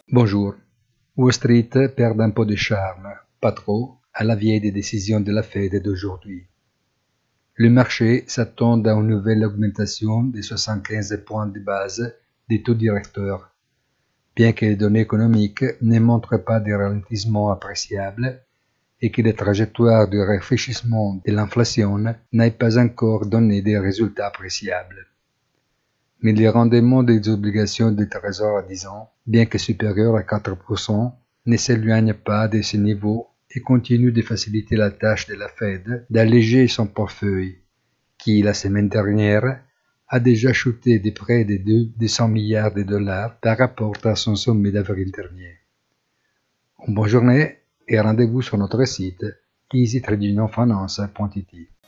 Bonjour. Wall Street perd un peu de charme, pas trop, à la veille des décisions de la Fed d'aujourd'hui. Le marché s'attend à une nouvelle augmentation de 75 points de base des taux directeurs, bien que les données économiques ne montrent pas de ralentissement appréciable et que la trajectoire de réfléchissement de l'inflation n'ait pas encore donné des résultats appréciables. Mais les rendements des obligations de trésor à 10 ans, bien que supérieurs à 4%, ne s'éloignent pas de ce niveau et continuent de faciliter la tâche de la Fed d'alléger son portefeuille, qui, la semaine dernière, a déjà chuté de près de 200 milliards de dollars par rapport à son sommet d'avril dernier. Une bonne journée et rendez-vous sur notre site easytradingfinance.it.